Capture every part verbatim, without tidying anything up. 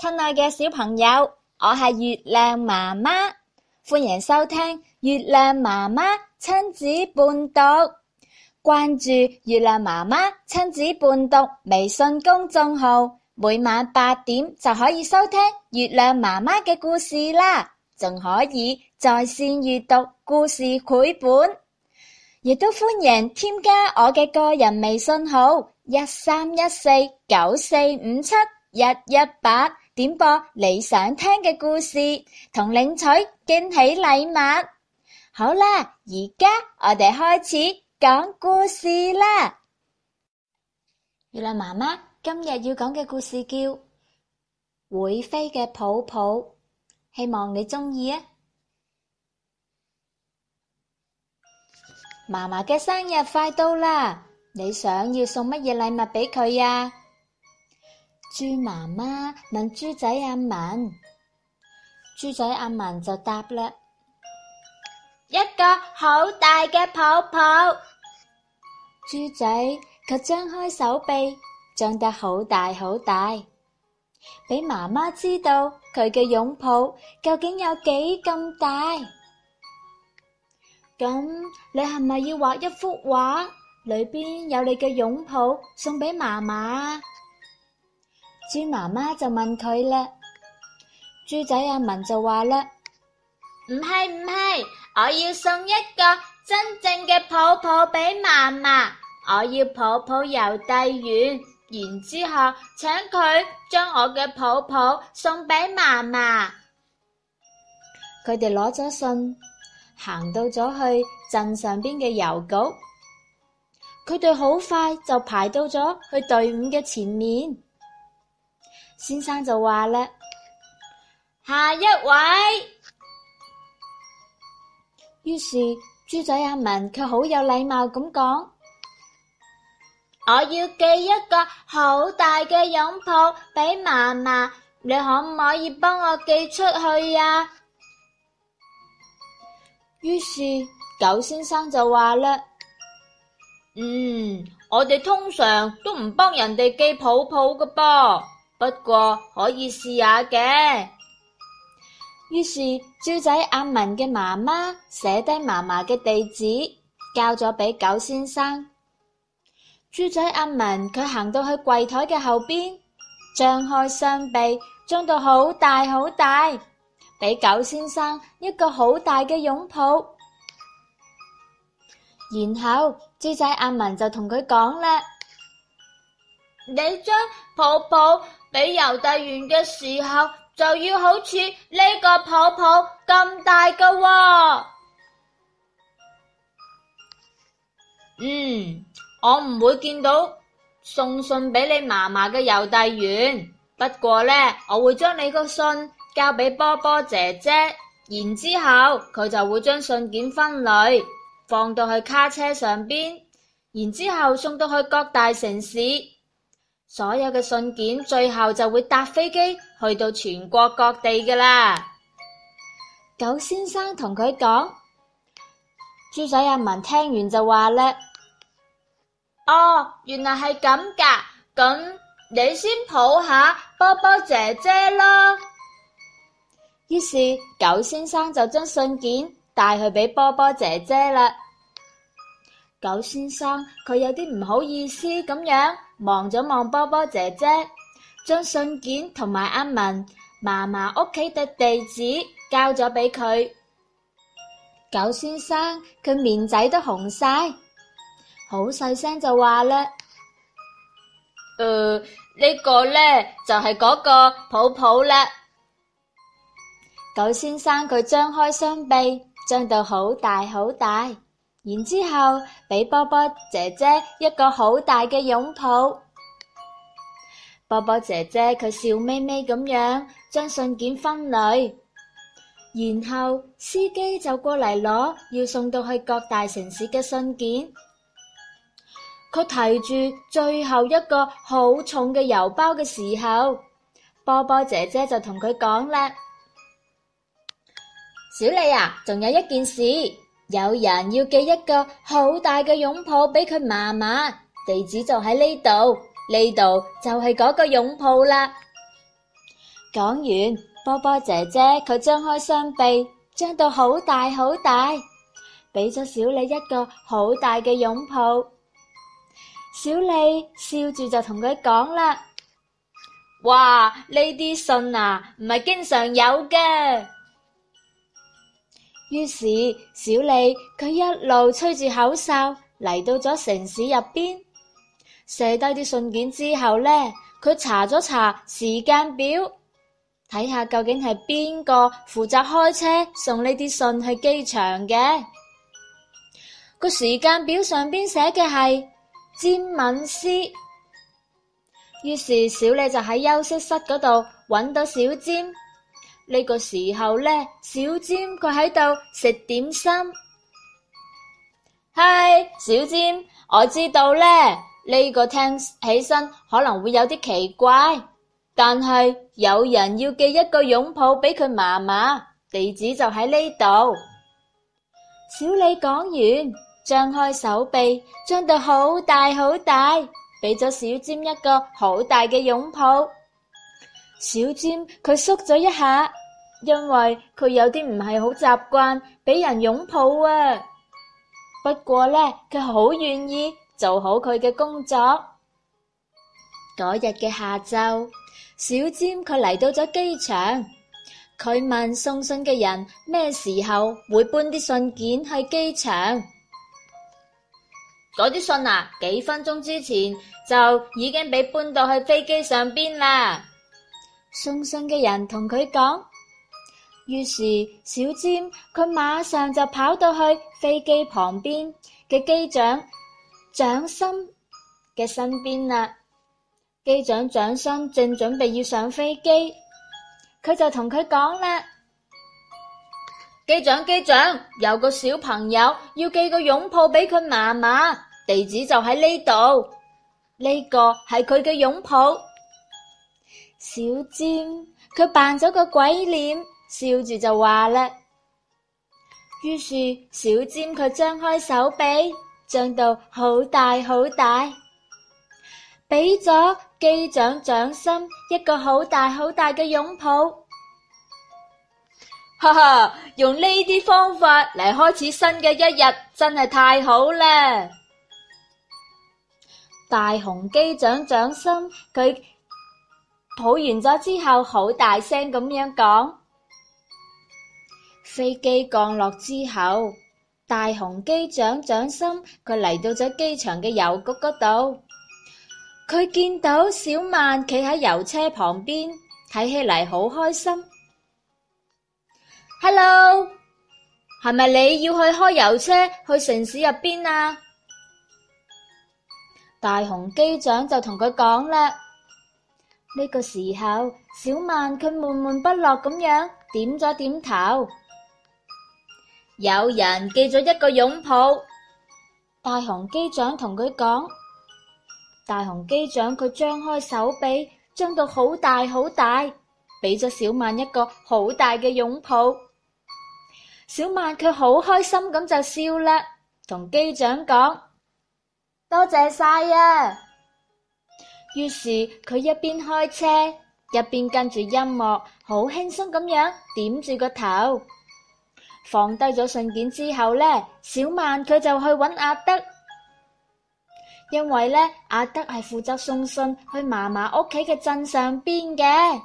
親愛嘅小朋友，我係月亮媽媽，歡迎收聽月亮媽媽親子伴讀。關注月亮媽媽親子伴讀微信公眾號，每晚八點就可以收聽月亮媽媽嘅故事啦，仲可以在線閱讀故事繪本，亦都歡迎添加我嘅個人微信號一三一四九四五七一一八，點播你想聽嘅故事，同領取驚喜禮物。好啦，而家我哋開始講故事啦。月亮媽媽今日要講嘅故事叫《會飛嘅抱抱》，希望你鍾意啊！嫲嫲嘅生日快到啦，你想要送乜嘢禮物俾佢呀？豬媽媽問豬仔阿文，豬仔阿文就答啦：一個好大嘅抱抱。豬仔卻張開手臂，張得好大好大，俾媽媽知道佢嘅擁抱究竟有幾咁大。咁你係咪要畫一幅畫，裏邊有你嘅擁抱送俾媽媽？豬媽媽就問佢啦，豬仔阿文就話啦，唔係唔係，我要送一個真正嘅抱抱俾媽媽，我要抱抱郵遞員，然之後請佢將我嘅抱抱送俾媽媽。佢哋攞咗信，行到咗去鎮上邊嘅郵局，佢哋好快就排到咗去隊伍嘅前面。先生就話啦，下一位。於是豬仔阿文卻好有禮貌咁講，我要寄一個好大嘅擁抱俾媽媽，你可唔可以幫我寄出去呀？於是狗先生就話啦，嗯，我哋通常都唔幫人哋寄抱抱㗎噃，不過可以試下嘅。於是豬仔阿文嘅媽媽寫低嫲嫲嘅地址，交咗俾狗先生。豬仔阿文佢行到去櫃台嘅後邊，張開雙臂，張到好大好大，俾狗先生一個好大嘅擁抱。然後豬仔阿文就同佢講啦，你將抱抱俾郵遞員嘅時候，就要好似呢個抱抱咁大㗎喎。嗯，我唔會見到送信俾你嫲嫲嘅郵遞員，不過呢，我會將你個信交俾波波姐姐，然之後佢就會將信件分類，放到去卡車上邊，然之後送到去各大城市。所有嘅信件最後就會搭飛機去到全國各地㗎啦。狗先生同佢講，豬仔阿文聽完就話咧，哦，原來係咁㗎，咁你先抱下波波姐姐咯。於是狗先生就將信件帶去俾波波姐姐啦。狗先生佢有啲唔好意思咁樣望咗望波波姐姐，將信件同埋阿文嫲嫲屋企嘅地址交咗俾佢。狗先生佢面仔都紅晒，好細聲就話啦，誒，呢個呢就係嗰個抱抱啦。狗先生佢張開雙臂，張到好大好大，然之後俾波波姐姐一個好大嘅擁抱。波波姐姐佢笑眯眯咁樣將信件分類，然後司機就過嚟攞要送到去各大城市嘅信件。佢提住最後一個好重嘅郵包嘅時候，波波姐姐就同佢講啦，小李啊，仲有一件事，有人要寄一個好大嘅擁抱俾佢嫲嫲，地址就喺呢度，呢度就係嗰個擁抱啦。 講完，波波姐姐佢張開雙臂，張到好大好大，俾咗小李一個好大嘅擁抱。小李笑住就同佢講啦：哇，呢啲信啊，唔係經常有嘅。於是小李佢一路吹住口哨嚟到咗城市入邊，寫低啲信件之後呢，佢查咗查時間表，睇下究竟係邊個負責開車送呢啲信去機場嘅。個時間表上邊寫嘅係詹敏斯，於是小李就喺休息室嗰度揾到小詹。呢個時候呢，小詹佢喺度食點心。嗨，小詹，我知道呢，呢個聽起身可能會有啲奇怪，但係有人要寄一個擁抱俾佢嫲嫲，地址就喺呢度。小李講完，張開手臂，張到好大好大，俾咗小詹一個好大嘅擁抱。小詹佢縮咗一下，因為佢有啲唔係好習慣俾人擁抱啊。不過呢，佢好願意做好佢嘅工作。嗰日嘅下晝，小詹佢嚟到咗機場，佢問送信嘅人咩時候會搬啲信件去機場。嗰啲信啊，幾分鐘之前就已經俾搬到去飛機上邊啦。送信嘅人同佢講。於是小詹佢馬上就跑到去飛機旁邊嘅機長蔣森嘅身邊啦。機長蔣森正準備要上飛機，佢就同佢講啦：機長機長，有個小朋友要寄個擁抱俾佢嫲嫲，地址就喺呢度，呢個係佢嘅擁抱。小詹佢扮咗個鬼臉，笑住就話啦。於是小詹佢張開手臂，張到好大好大，俾咗機長蔣森一個好大好大嘅擁抱。哈哈，用呢啲方法嚟開始新嘅一日，真係太好啦！大雄機長蔣森佢抱完咗之後，好大聲咁樣講。飛機降落之後，大雄機長蔣森佢嚟到咗機場嘅郵局嗰度，佢見到小曼企喺郵車旁邊，睇起嚟好開心。Hello， 係咪你要去開郵車去城市入邊啊？大雄機長就同佢講啦。呢個時候，小曼佢悶悶不樂咁樣點咗點頭。有人寄咗一個擁抱，大雄機長同佢講。大雄機長佢張開手臂，張到好大好大，俾咗小曼一個好大嘅擁抱。小曼佢好開心咁就笑啦，同機長講：多謝晒啊！於是佢一邊開車，一邊跟住音樂，好輕鬆咁樣點住個頭。放低咗信件之後呢，小曼佢就去揾阿德，因為呢，阿德係負責送信去嫲嫲屋企嘅鎮上邊嘅。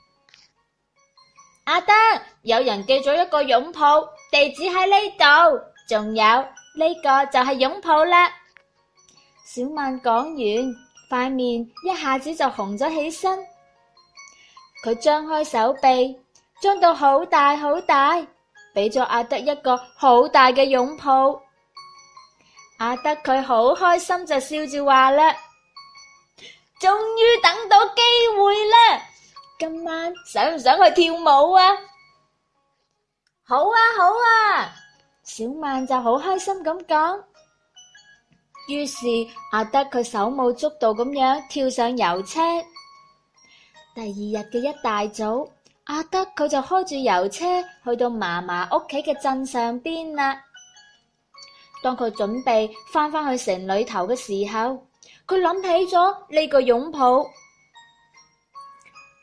阿德，有人寄咗一個擁抱，地址喺呢度，仲有呢個就係擁抱啦。小曼講完，塊面一下子就紅咗起身，佢張開手臂，張到好大好大，俾咗阿德一個好大嘅擁抱。阿德佢好開心就笑住話啦：終於等到機會啦！今晚想唔想去跳舞啊？好啊好啊！小曼就好開心咁講。於是阿德佢手舞足蹈咁樣跳上郵車。第二日嘅一大早，阿德佢就開住郵車去到嫲嫲屋企嘅鎮上邊啦。當佢準備翻返去城裏頭嘅時候，佢諗起咗呢個擁抱。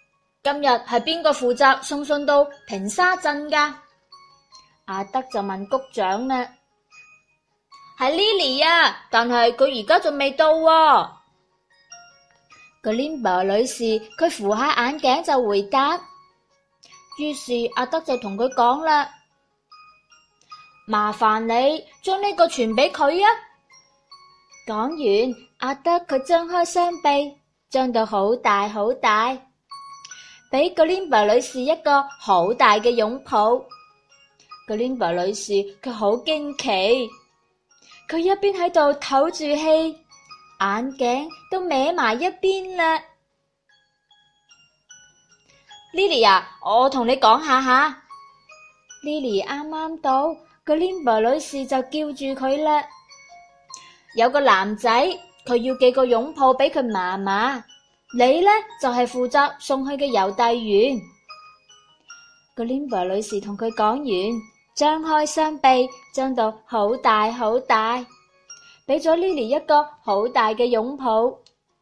今日係邊個負責送信到平沙鎮㗎？阿德就問谷長呢。係 Lily 啊，但係佢而家仲未到喎。Glimmer 女士佢扶下眼鏡就回答。於是阿德就同佢講啦，麻煩你將呢個傳俾佢啊。講完，阿德佢張開雙臂，張到好大好大，俾 Glimmer 女士一個好大嘅擁抱。Glimmer 女士佢好驚奇，佢一邊喺度唞住氣，眼鏡都歪埋一邊啦。Lily 啊，我同你講下吓。Lily 啱啱到，Glimmer 女士就叫住佢啦。有個男仔，佢要寄個擁抱俾佢嫲嫲，你呢就係負責送去嘅郵遞員。Glimmer 女士同佢講完，張開雙臂，張到好大好大，俾咗 Lily 一個好大嘅擁抱。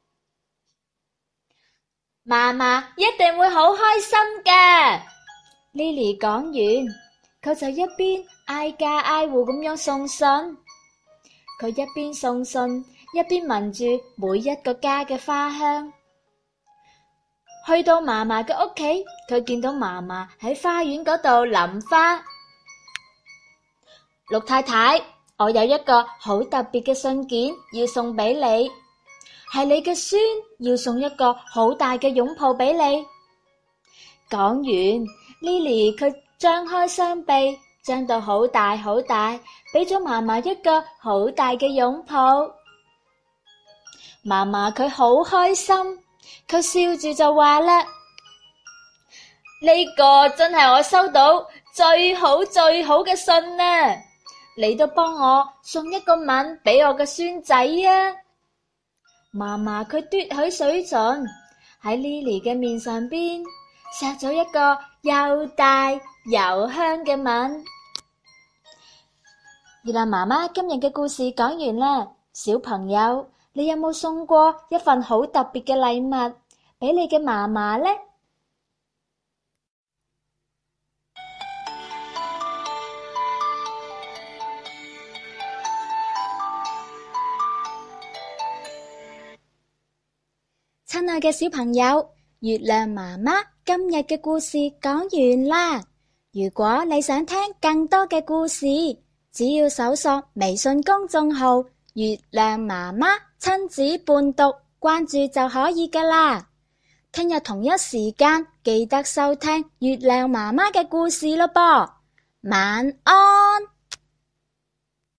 嫲嫲一定會好開心嘅。Lily 講完，佢就一邊挨家挨戶咁樣送信。佢一邊送信，一邊聞住每一個家嘅花香。去到嫲嫲嘅屋企，佢見到嫲嫲喺花園嗰度淋花。陸太太，我有一個好特別嘅信件要送俾你。係你嘅孫要送一個好大嘅擁抱俾你。講完 ，Lily 佢張開雙臂，張到好大好大，俾咗嫲嫲一個好大嘅擁抱。嫲嫲佢好開心，佢笑住就話啦：呢個真係我收到最好最好嘅信啊！你都幫我送一個吻俾我嘅孫仔啊！嫲嫲佢嘟起水唇，喺 Lily 嘅面上邊錫咗一個又大又香嘅吻。月亮媽媽今日嘅故事講完啦，小朋友，你有冇送過一份好特別嘅禮物俾你嘅嫲嫲呢？親愛嘅小朋友，月亮媽媽今日嘅故事講完啦。如果你想聽更多嘅故事，只要搜索微信公眾號月亮媽媽親子伴讀，關注就可以㗎啦。聽日同一時間記得收聽月亮媽媽嘅故事咯噃。晚安。